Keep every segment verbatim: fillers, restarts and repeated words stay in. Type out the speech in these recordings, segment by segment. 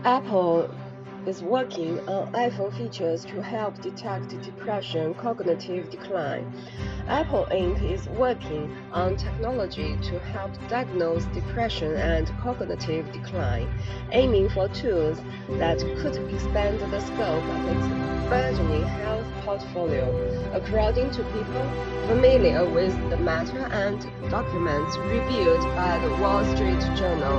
Apple is working on iPhone features to help detect depression cognitive decline. Apple Incorporated is working on technology to help diagnose depression and cognitive decline, aiming for tools that could expand the scope of its burgeoning health portfolio. According to people familiar with the matter and documents reviewed by the Wall Street Journal.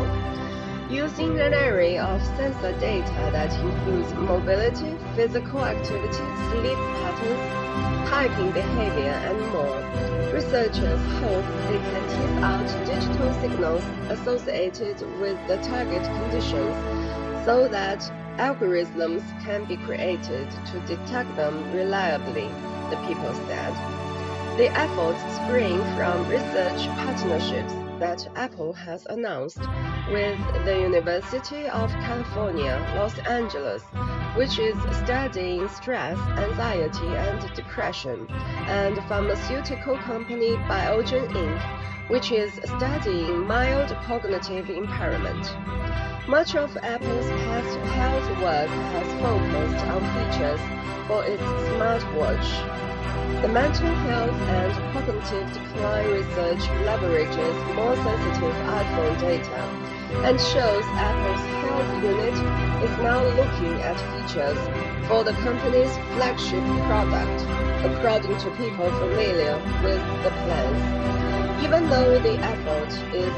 Using an array of sensor data that includes mobility, physical activity, sleep patterns, typing behavior, and more, researchers hope they can tease out digital signals associated with the target conditions so that algorithms can be created to detect them reliably, the people said. The efforts spring from research partnerships that Apple has announced with the University of California, Los Angeles, which is studying stress, anxiety, and depression, and pharmaceutical company Biogen Incorporated, which is studying mild cognitive impairment. Much of Apple's past health work has focused on features for its smartwatch. The mental health and cognitive decline research leverages more sensitive iPhone data and shows Apple's health unit is now looking at features for the company's flagship product, according to people familiar with the plans. Even though the effort is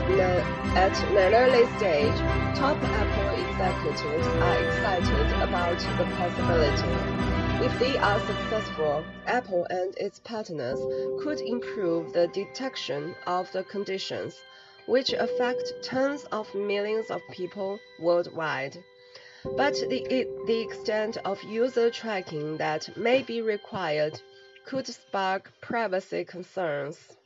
at an early stage, top Apple executives are excited about the possibility. If they are successful, Apple and its partners could improve the detection of the conditions, which affect tens of millions of people worldwide. But the, the extent of user tracking that may be required could spark privacy concerns.